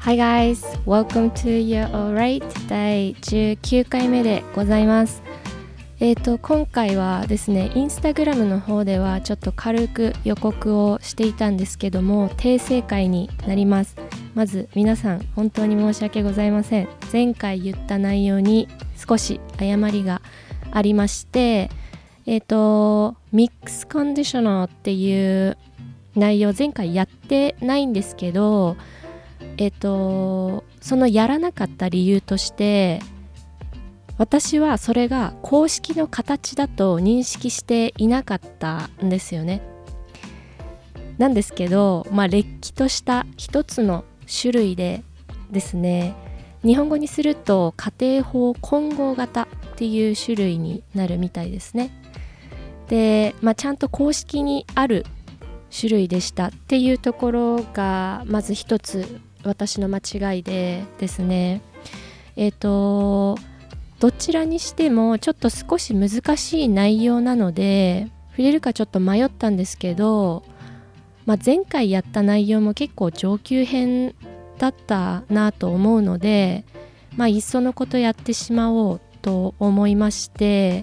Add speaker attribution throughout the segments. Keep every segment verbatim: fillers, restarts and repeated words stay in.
Speaker 1: Hi guys, welcome to You're Alright だいじゅうきゅうかいめでございます。えーと今回はですね、インスタグラムの方ではちょっと軽く予告をしていたんですけども、訂正会になります。まず皆さん本当に申し訳ございません。前回言った内容に少し誤りがありまして、えーとミックスコンディショナーっていう内容前回やってないんですけど、えっとそのやらなかった理由として、私はそれが公式の形だと認識していなかったんですよね。なんですけど、まあれっきとした一つの種類でですね、日本語にすると家庭法混合型っていう種類になるみたいですね。で、まあ、ちゃんと公式にある種類でしたっていうところがまず一つ私の間違いでですね、えっとどちらにしてもちょっと少し難しい内容なので触れるかちょっと迷ったんですけど、まあ、前回やった内容も結構上級編だったなと思うので、まあ、いっそのことやってしまおうと思いまして、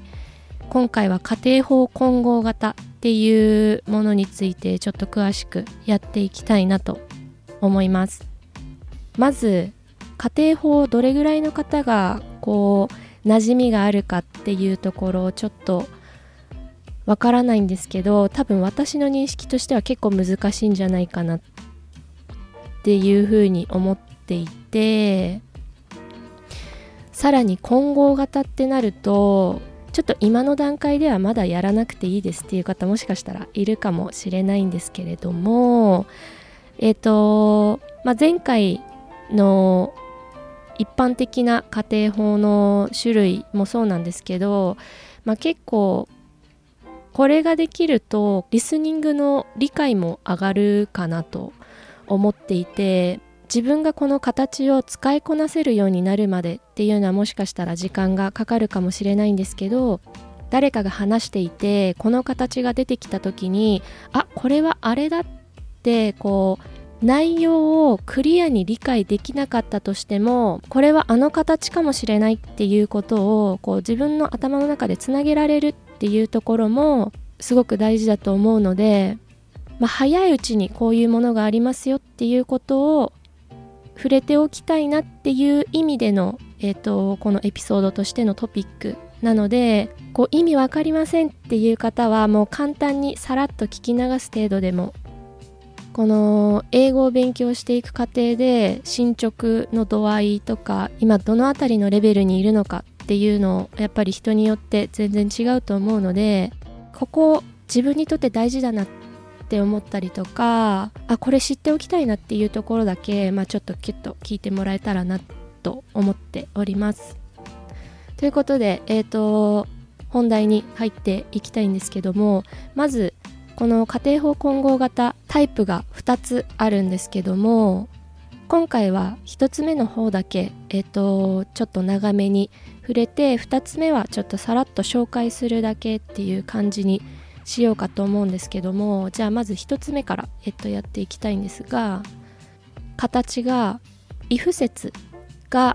Speaker 1: 今回は家庭法混合型っていうものについてちょっと詳しくやっていきたいなと思います。まず家庭法どれぐらいの方がこう馴染みがあるかっていうところをちょっとわからないんですけど、多分私の認識としては結構難しいんじゃないかなっていうふうに思っていて、さらに混合型ってなるとちょっと今の段階ではまだやらなくていいですっていう方もしかしたらいるかもしれないんですけれども、えっと、まあ、前回の一般的な家庭法の種類もそうなんですけど、まあ、結構これができるとリスニングの理解も上がるかなと思っていて、自分がこの形を使いこなせるようになるまでっていうのはもしかしたら時間がかかるかもしれないんですけど、誰かが話していてこの形が出てきた時に、あ、これはあれだってこう内容をクリアに理解できなかったとしても、これはあの形かもしれないっていうことをこう自分の頭の中でつなげられるっていうところもすごく大事だと思うので、まあ、早いうちにこういうものがありますよっていうことを触れておきたいなっていう意味での、えーと、このエピソードとしてのトピックなので、こう意味わかりませんっていう方はもう簡単にさらっと聞き流す程度でも、この英語を勉強していく過程で進捗の度合いとか今どのあたりのレベルにいるのかっていうのをやっぱり人によって全然違うと思うので、ここ自分にとって大事だなって思ったりとか、あ、これ知っておきたいなっていうところだけ、まあ、ちょっとキュッと聞いてもらえたらなと思っております。ということで、えーと本題に入っていきたいんですけども、まずこの家庭法混合型タイプがふたつあるんですけども、今回はひとつめの方だけ、えーとちょっと長めに触れて、ふたつめはちょっとさらっと紹介するだけっていう感じにしようかと思うんですけども、じゃあまずひとつめから、えっと、やっていきたいんですが、形が if 節が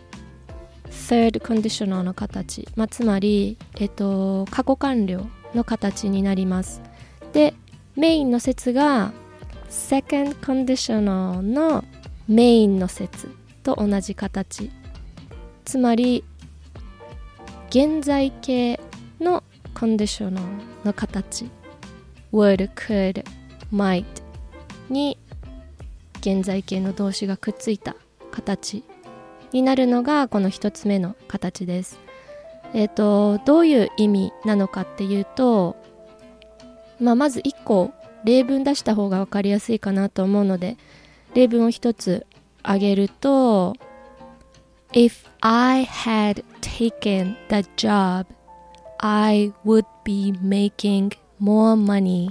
Speaker 1: third conditional の形、まあ、つまり、えっと、過去完了の形になります。で、メインの節が second conditional のメインの節と同じ形、つまり現在形のコンディショナルの形 would, could, might に現在形の動詞がくっついた形になるのがこの一つ目の形です。えっと、どういう意味なのかっていうと、まあ、まずいっこ例文出した方が分かりやすいかなと思うので、例文を一つ挙げると If I had taken the job, I would be making more money.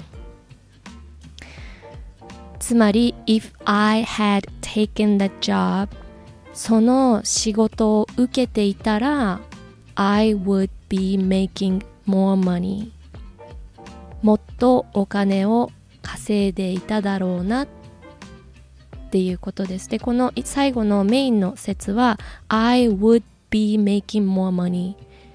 Speaker 1: つまり If I had taken the job, その仕事を受けていたら I would be making more money. もっとお金を稼いでいただろうなっっていうことです。で、この最後のメインの説は I would be making more money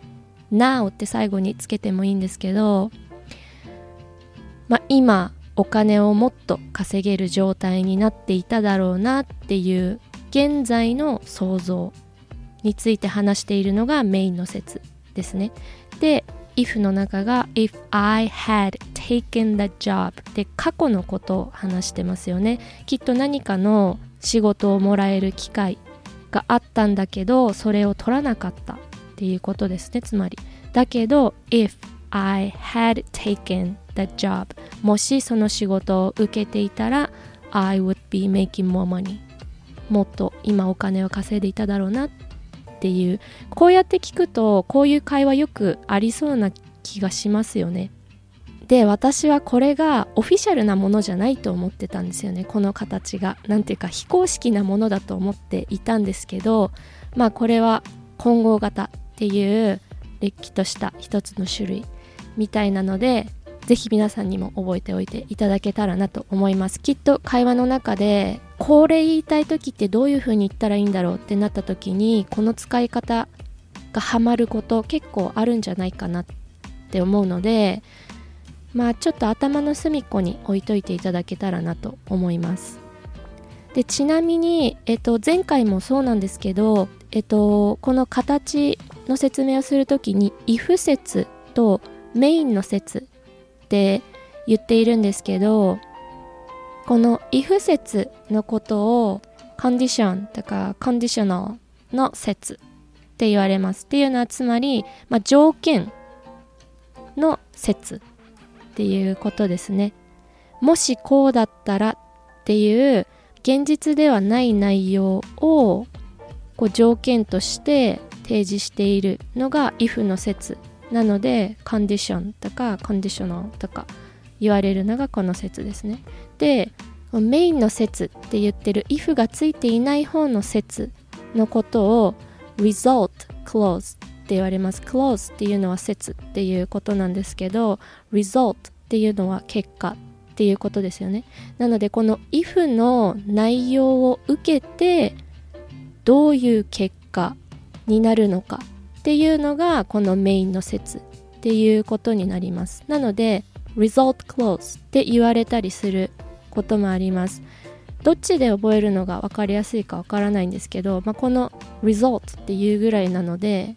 Speaker 1: now って最後につけてもいいんですけど、まあ、今お金をもっと稼げる状態になっていただろうなっていう現在の想像について話しているのがメインの説ですね。で、if の中が if I had taken the job で過去のことを話してますよね。きっと何かの仕事をもらえる機会があったんだけど、それを取らなかったっていうことですね。つまりだけど if I had taken the job もしその仕事を受けていたら I would be making more money もっと今お金を稼いでいただろうなっていう、こうやって聞くとこういう会話よくありそうな気がしますよね。で、私はこれがオフィシャルなものじゃないと思ってたんですよね。この形がなんていうか非公式なものだと思っていたんですけど、まあこれは混合型っていうれっきとした一つの種類みたいなので、ぜひ皆さんにも覚えておいていただけたらなと思います。きっと会話の中でこれ言いたい時ってどういう風に言ったらいいんだろうってなった時に、この使い方がハマること結構あるんじゃないかなって思うので、まあちょっと頭の隅っこに置いといていただけたらなと思います。で、ちなみに、えっと、前回もそうなんですけど、えっと、この形の説明をするときに if 説とメインの説って言っているんですけど、この if 説のことを condition とか conditional の説って言われます。っていうのはつまり、まあ、条件の説っていうことですね。もしこうだったらっていう現実ではない内容をこう条件として提示しているのが if の説なので、condition とか conditional とか言われるのがこの説ですね。で、メインの説って言ってる if がついていない方の説のことを result clause って言われます。clause っていうのは説っていうことなんですけど、result っていうのは結果っていうことですよね。なのでこの if の内容を受けてどういう結果になるのかっていうのがこのメインの説っていうことになります。なので result clause って言われたりすることもあります。どっちで覚えるのが分かりやすいか分からないんですけど、まあ、この result っていうぐらいなので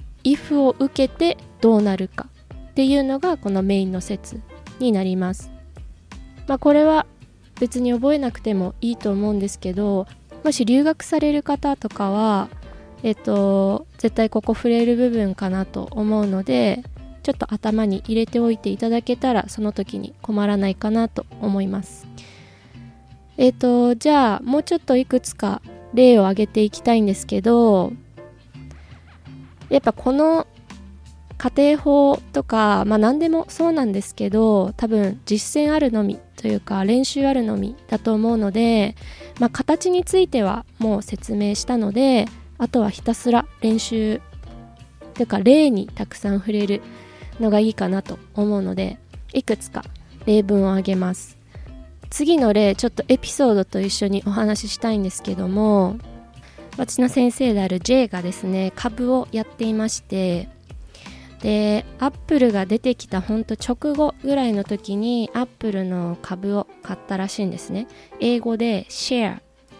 Speaker 1: if を受けてどうなるかっていうのがこのメインの説になります。まあ、これは別に覚えなくてもいいと思うんですけど、もし留学される方とかはえっと絶対ここ触れる部分かなと思うので、ちょっと頭に入れておいていただけたらその時に困らないかなと思います。えっとじゃあもうちょっといくつか例を挙げていきたいんですけど、やっぱこの家庭法とか、まあ何でもそうなんですけど、多分実践あるのみというか練習あるのみだと思うので、まあ形についてはもう説明したので、あとはひたすら練習というか例にたくさん触れるのがいいかなと思うので、いくつか例文を挙げます。次の例、ちょっとエピソードと一緒にお話ししたいんですけども、私の先生である J がですね、株をやっていまして、で、アップルが出てきたほんと直後ぐらいの時にアップルの株を買ったらしいんですね。英語で share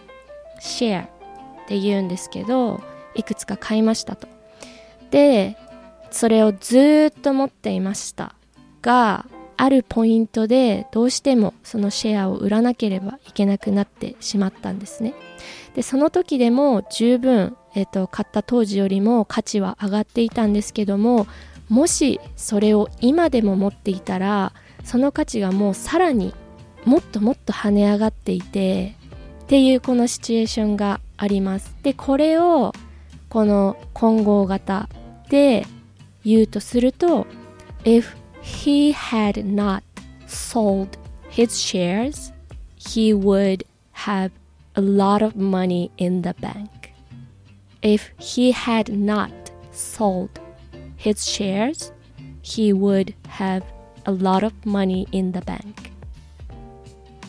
Speaker 1: share って言うんですけど、いくつか買いましたと。で、それをずーっと持っていましたが、あるポイントでどうしてもそのシェアを売らなければいけなくなってしまったんですね。で、その時でも十分、えっと、買った当時よりも価値は上がっていたんですけども、もしそれを今でも持っていたら、その価値がもうさらにもっともっと跳ね上がっていてっていうこのシチュエーションがあります。で、これをこの混合型で言うとすると If he had not sold his shares, he would have a lot of money in the bank. If he had not sold his shares, he would have a lot of money in the bank.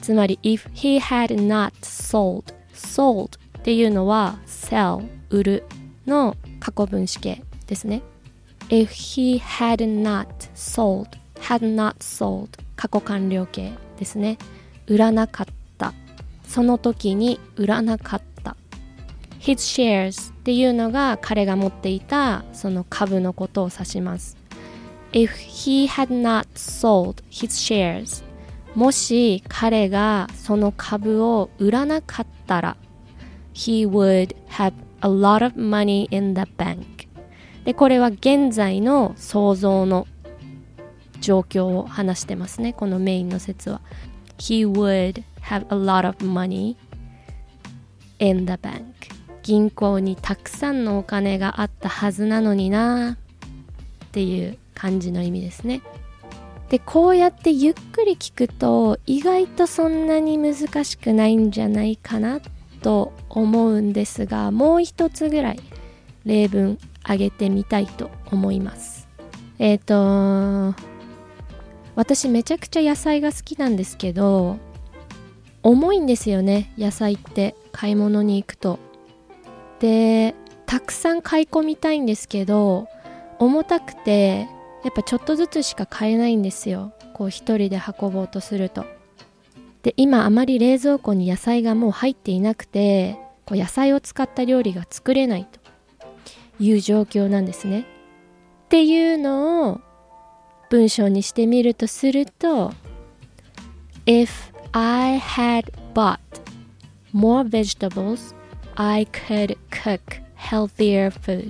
Speaker 1: つまり if he had not sold sold っていうのは sell 売るの過去分詞形ですね。 if he had not sold had not sold 過去完了形ですね。売らなかった、その時に売らなかった。 his shares っていうのが彼が持っていたその株のことを指します。 if he had not sold his shares もし彼がその株を売らなかったら he would have a lot of money in the bank で、これは現在の想像の状況を話してますね。このメインの説は he would have a lot of money in the bank 銀行にたくさんのお金があったはずなのになっていう感じの意味ですね。で、こうやってゆっくり聞くと意外とそんなに難しくないんじゃないかなと思うんですが、もう一つぐらい例文挙げてみたいと思います。えっと私めちゃくちゃ野菜が好きなんですけど、重いんですよね、野菜って買い物に行くと。で、たくさん買い込みたいんですけど、重たくてやっぱちょっとずつしか買えないんですよ、こう一人で運ぼうとすると。で、今あまり冷蔵庫に野菜がもう入っていなくて、こう野菜を使った料理が作れないという状況なんですね。っていうのを文章にしてみるとすると If I had bought more vegetables, I could cook healthier food.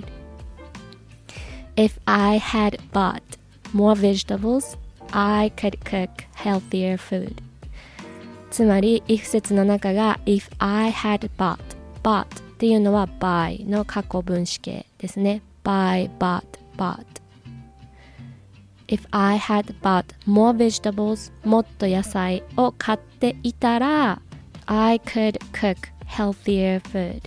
Speaker 1: If I had bought more vegetables, I could cook healthier food. つまり if 節の中が if I had bought bought っていうのは buy の過去分詞形ですね。buy, bought, bought. If I had bought more vegetables もっと野菜を買っていたら I could cook healthier food.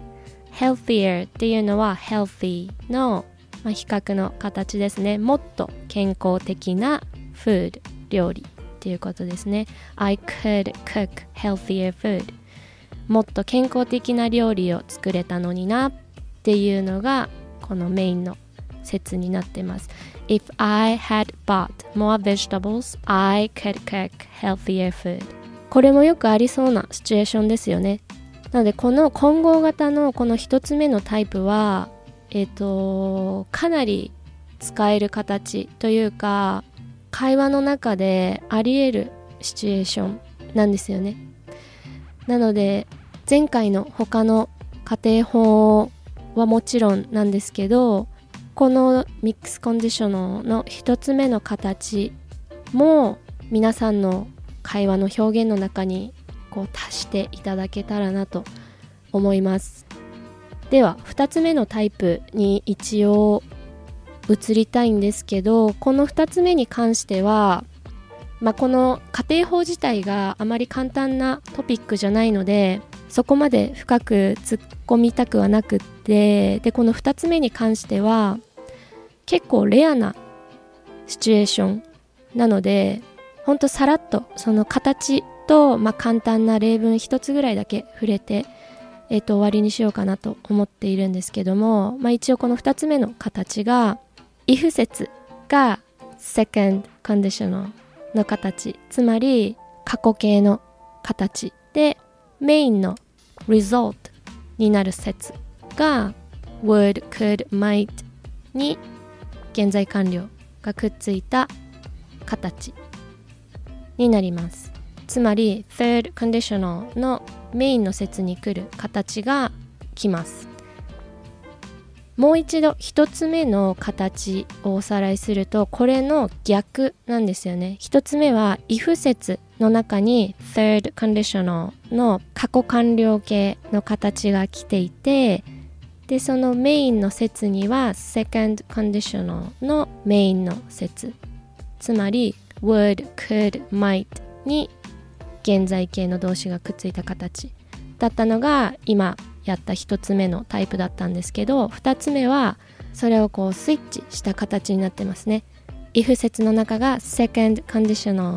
Speaker 1: healthier っていうのは healthy のまあ、比較の形ですね。もっと健康的な food 料理っていうことですね。I could cook healthier food もっと健康的な料理を作れたのになっていうのがこのメインの説になってます。 If I had bought more vegetables, I could cook healthier food。 これもよくありそうなシチュエーションですよね。なのでこの混合型のこの一つ目のタイプはえっと、かなり使える形というか会話の中であり得るシチュエーションなんですよね。なので前回の他の家庭法はもちろんなんですけど、このミックスコンディショナルの一つ目の形も皆さんの会話の表現の中にこう足していただけたらなと思います。ではふたつめのタイプに一応移りたいんですけど、このふたつめに関しては、まあ、この家庭法自体があまり簡単なトピックじゃないのでそこまで深く突っ込みたくはなくって、でこのふたつめに関しては結構レアなシチュエーションなので、ほんとさらっとその形と、まあ、簡単な例文一つぐらいだけ触れてえーと、終わりにしようかなと思っているんですけども、まあ、一応このふたつめの形が if 節が second conditional の形、つまり過去形の形で、メインの result になる節が would, could, might に現在完了がくっついた形になります。つまり third conditional のメインの節に来る形が来ます。もう一度一つ目の形をおさらいすると、これの逆なんですよね。一つ目は if 節の中に third conditional の過去完了形の形が来ていて、でそのメインの節には second conditional のメインの節、つまり would, could, might に現在形の動詞がくっついた形だったのが今やった一つ目のタイプだったんですけど、二つ目はそれをこうスイッチした形になってますね。if 節の中が second conditional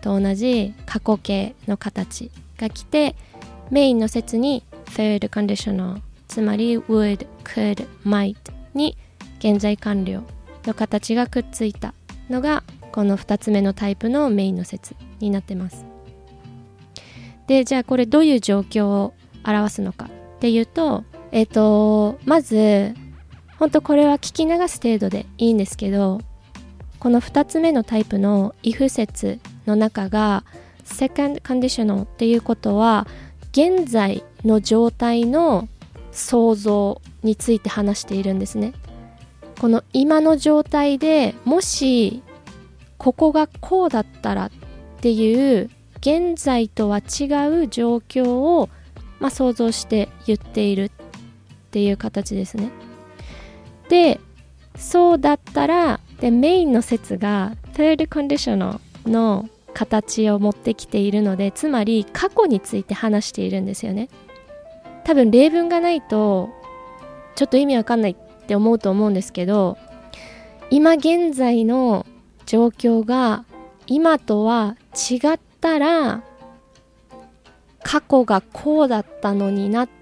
Speaker 1: と同じ過去形の形が来て、メインの説に third conditional、 つまり would、could、might に現在完了の形がくっついたのがこのふたつめのタイプのメインの説になってます。で、じゃあこれどういう状況を表すのかっていうと、えっとまず本当これは聞き流す程度でいいんですけど、このふたつめのタイプの if 説の中が second conditional っていうことは現在の状態の想像について話しているんですね。この今の状態でもしここがこうだったらっていう現在とは違う状況を、まあ、想像して言っているっていう形ですね。で、そうだったらでメインの説が third conditional の形を持ってきているので、つまり過去について話しているんですよね。多分例文がないとちょっと意味わかんないって思うと思うんですけど、今現在の状況が今とは違ったら過去がこうだったのにな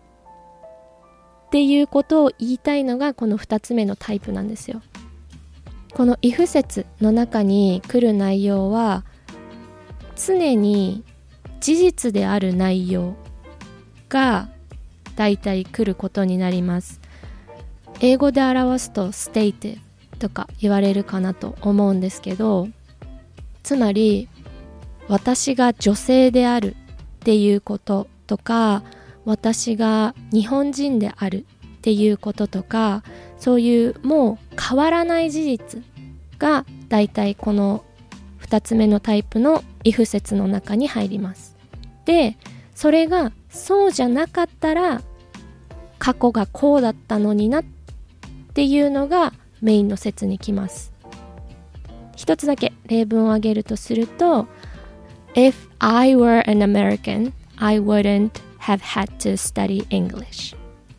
Speaker 1: っていうことを言いたいのがこのふたつめのタイプなんですよ。この if 説の中に来る内容は常に事実である内容がだいたい来ることになります。英語で表すと state とか言われるかなと思うんですけど、つまり私が女性であるっていうこととか、私が日本人であるっていうこととか、そういうもう変わらない事実がだいたいこのふたつめのタイプの if 説の中に入ります。で、それがそうじゃなかったら過去がこうだったのになっていうのがメインの説に来ます。一つだけ例文を挙げるとすると If I were an American, I wouldn't have had to study English.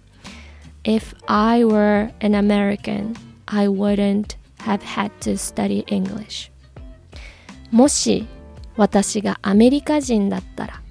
Speaker 1: If I were an American, I wouldn't have had to study English. もし私がアメリカ人だったら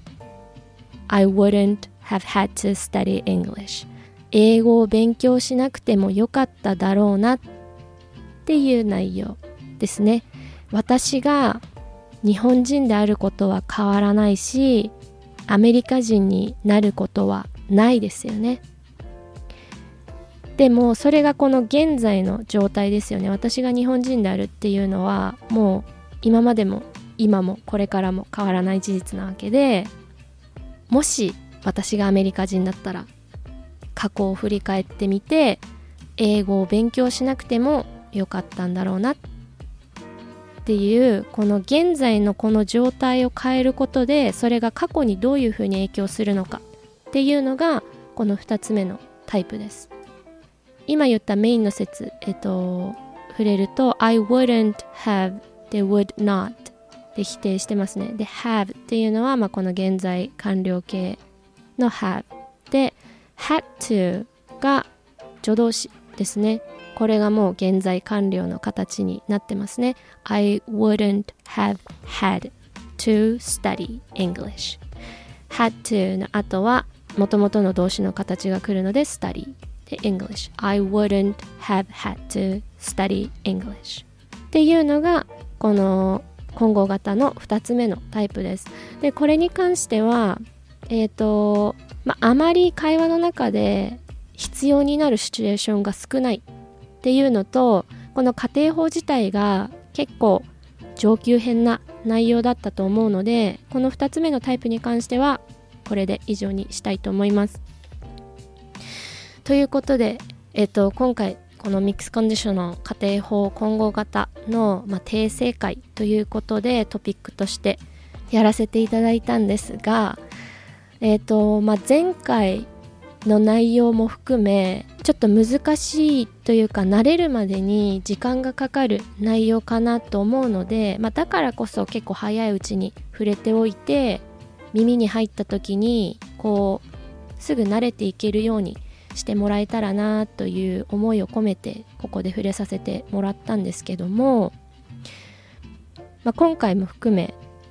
Speaker 1: I wouldn't have had to study English. 英語を勉強しなくてもよかっただろうなっていう内容ですね。私が日本人であることは変わらないし、アメリカ人になることはないですよね。でもそれがこの現在の状態ですよね。私が日本人であるっていうのはもう今までも今もこれからも変わらない事実なわけで、もし私がアメリカ人だったら過去を振り返ってみて英語を勉強しなくてもよかったんだろうなっていう、この現在のこの状態を変えることでそれが過去にどういうふうに影響するのかっていうのがこのふたつめのタイプです。今言ったメインの説、えっと、触れると I wouldn't have で would not で否定してますね。で have っていうのは、まあ、この現在完了形の have で had to が助動詞ですね。これがもう現在完了の形になってますね。I wouldn't have had to study English. had to の後は元々の動詞の形が来るので study で English. I wouldn't have had to study English. っていうのがこの混合型のふたつめのタイプです。で、これに関してはえっと、まあ、あまり会話の中で必要になるシチュエーションが少ないっていうのと、この家庭法自体が結構上級編な内容だったと思うので、このふたつめのタイプに関してはこれで以上にしたいと思います。ということで、えっと、今回このミックスコンディションの家庭法混合型の、まあ、訂正会ということでトピックとしてやらせていただいたんですが、えっとまあ、前回の内容も含めちょっと難しいというか慣れるまでに時間がかかる内容かなと思うので、まあ、だからこそ結構早いうちに触れておいて耳に入った時にこうすぐ慣れていけるようにしてもらえたらなという思いを込めてここで触れさせてもらったんですけども、まあ、今回も含め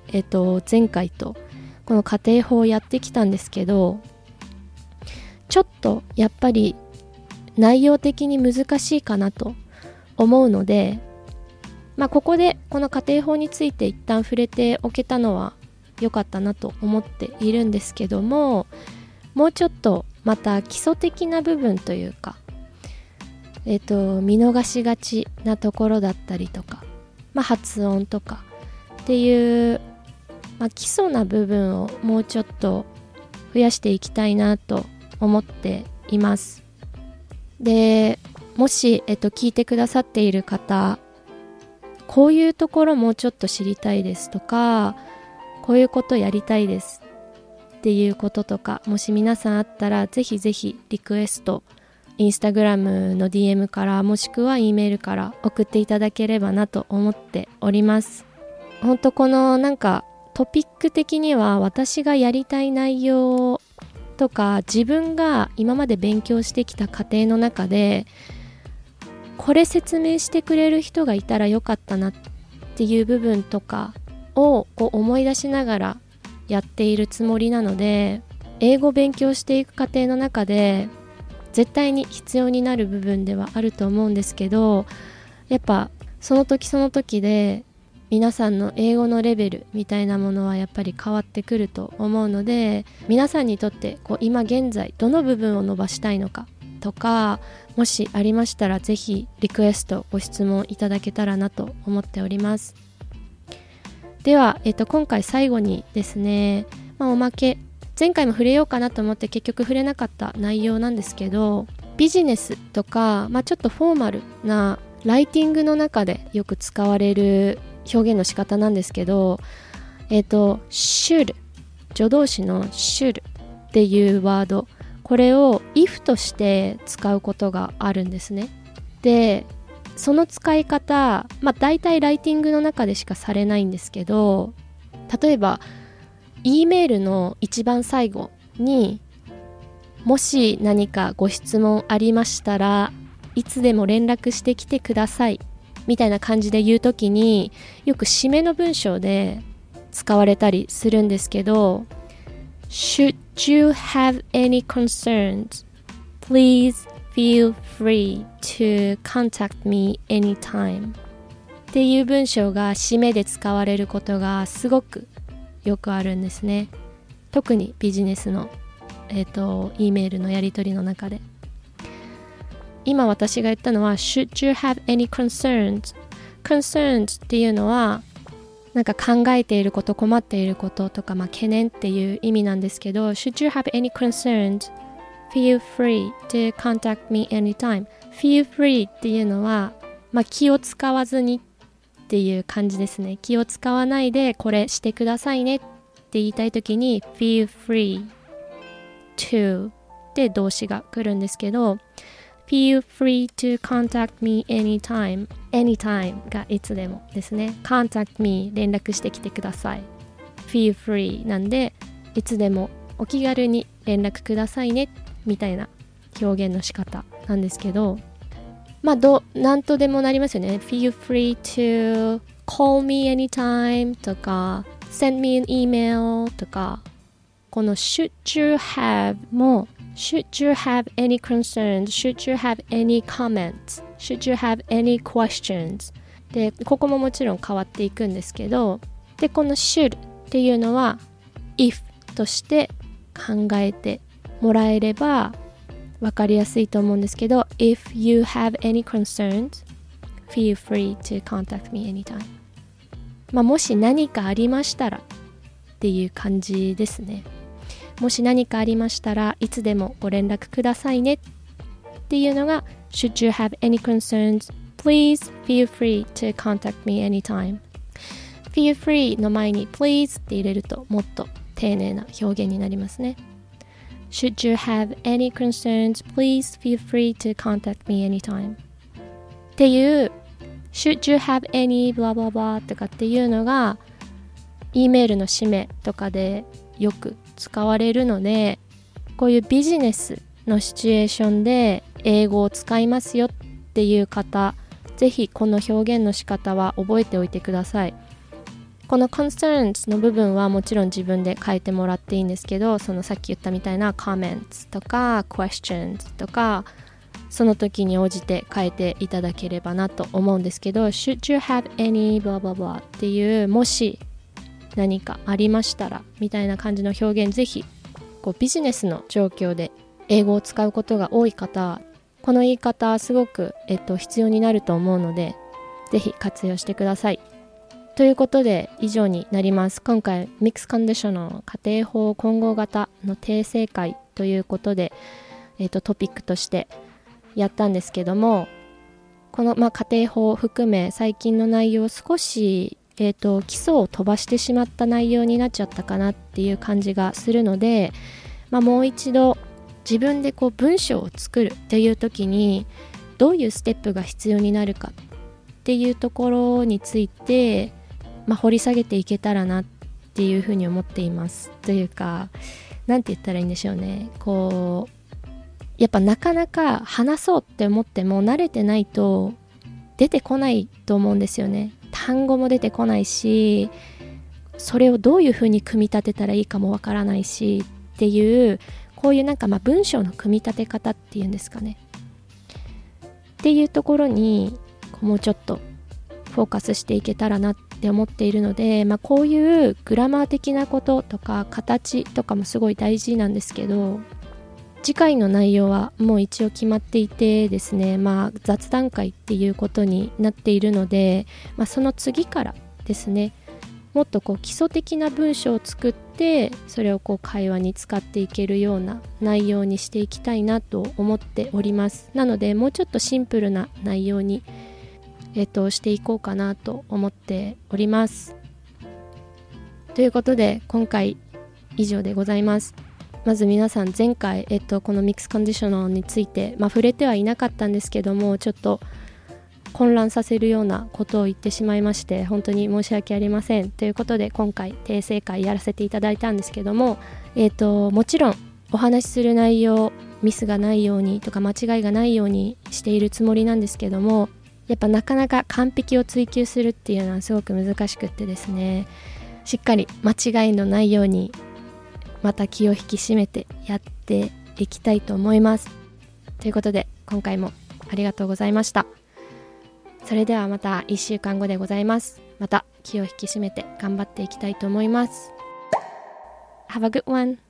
Speaker 1: えっと、前回とこの家庭法をやってきたんですけど、ちょっとやっぱり内容的に難しいかなと思うので、まあ、ここでこの家庭法について一旦触れておけたのは良かったなと思っているんですけども、もうちょっとまた基礎的な部分というか、えっと、見逃しがちなところだったりとか、まあ、発音とかっていう、まあ、基礎な部分をもうちょっと増やしていきたいなと思っています。で、もし、えっと、聞いてくださっている方、こういうところもうちょっと知りたいですとか、こういうことやりたいですっていうこととか、もし皆さんあったらぜひぜひリクエスト、インスタグラムの ディーエム からもしくは E メールから送っていただければなと思っております。本当このなんかトピック的には私がやりたい内容とか自分が今まで勉強してきた過程の中でこれ説明してくれる人がいたらよかったなっていう部分とかをこう思い出しながらやっているつもりなので、英語を勉強していく過程の中で絶対に必要になる部分ではあると思うんですけど、やっぱその時その時で皆さんの英語のレベルみたいなものはやっぱり変わってくると思うので、皆さんにとってこう今現在どの部分を伸ばしたいのかとか、もしありましたらぜひリクエストご質問いただけたらなと思っております。では、えっと、今回最後にですね、まあ、おまけ前回も触れようかなと思って結局触れなかった内容なんですけど、ビジネスとか、まあ、ちょっとフォーマルなライティングの中でよく使われる表現の仕方なんですけど、えっと should 助動詞の should っていうワード、これを if として使うことがあるんですね。で、その使い方、まあ大体ライティングの中でしかされないんですけど、例えばE メールの一番最後にもし何かご質問ありましたらいつでも連絡してきてくださいみたいな感じで言うときによく締めの文章で使われたりするんですけど、 Should you have any concerns, please feel free to contact me anytime っていう文章が締めで使われることがすごくよくあるんですね。特にビジネスの、えーと、E メールのやり取りの中で。今私が言ったのは Should you have any concerns? Concerns っていうのはなんか考えていること、困っていることとか、まあ、懸念っていう意味なんですけど、 Should you have any concerns? Feel free to contact me anytime. Feel free っていうのは、まあ、気を使わずにっていう感じですね。気を使わないでこれしてくださいねって言いたいときに feel free to で動詞が来るんですけど、 feel free to contact me anytime anytime がいつでもですね。 contact me 連絡してきてください。 feel free なんでいつでもお気軽に連絡くださいねみたいな表現の仕方なんですけど、まあどなんとでもなりますよね。 Feel free to call me anytime とか send me an email とか、この should you have も should you have any concerns, should you have any comments, should you have any questions で、ここももちろん変わっていくんですけど、でこの should っていうのは if として考えてもらえればわかりやすいと思うんですけど、 If you have any concerns, feel free to contact me anytime。 まあもし何かありましたらっていう感じですね。もし何かありましたらいつでもご連絡くださいねっていうのが Should you have any concerns, please feel free to contact me anytime。 feel free の前に please って入れるともっと丁寧な表現になりますね。Should you have any concerns, please feel free to contact me anytime っていう Should you have any blah blah blah とかっていうのが E メールの締めとかでよく使われるので、こういうビジネスのシチュエーションで英語を使いますよっていう方、ぜひこの表現の仕方は覚えておいてください。 この concerns の部分はもちろん自分で変えてもらっていいんですけど、そのさっき言ったみたいな comments とか questions とかその時に応じて変えていただければなと思うんですけど、 Should you have any blah blah blah っていう、もし何かありましたらみたいな感じの表現、ぜひこうビジネスの状況で英語を使うことが多い方、この言い方すごく、えっと、必要になると思うので、ぜひ活用してください。ということで以上になります。今回ミックスコンディショナル家庭法混合型の訂正会ということで、えっと、トピックとしてやったんですけども、この、まあ、家庭法を含め最近の内容、少し、えーと、基礎を飛ばしてしまった内容になっちゃったかなっていう感じがするので、まあ、もう一度自分でこう文章を作るっていう時にどういうステップが必要になるかっていうところについて、まあ、掘り下げていけたらなっていうふうに思っています。というか、なんて言ったらいいんでしょうね、こうやっぱなかなか話そうって思っても慣れてないと出てこないと思うんですよね。単語も出てこないし、それをどういうふうに組み立てたらいいかもわからないしっていう、こういうなんかまあ文章の組み立て方っていうんですかね、っていうところにもうちょっとフォーカスしていけたらなって思っているので、まあ、こういうグラマー的なこととか形とかもすごい大事なんですけど、次回の内容はもう一応決まっていてですね、まあ、雑談会っていうことになっているので、まあ、その次からですね、もっとこう基礎的な文章を作って、それをこう会話に使っていけるような内容にしていきたいなと思っております。なのでもうちょっとシンプルな内容に、えっと、していこうかなと思っております。ということで今回以上でございます。まず皆さん、前回、えっと、このミックスコンディショナルについて、まあ、触れてはいなかったんですけども、ちょっと混乱させるようなことを言ってしまいまして、本当に申し訳ありません。ということで今回訂正会やらせていただいたんですけども、えっと、もちろんお話しする内容、ミスがないようにとか間違いがないようにしているつもりなんですけども、やっぱなかなか完璧を追求するっていうのはすごく難しくってですね、しっかり間違いのないようにまた気を引き締めてやっていきたいと思います。ということで今回もありがとうございました。それではまたいっしゅうかんごでございます。また気を引き締めて頑張っていきたいと思います。Have a good one!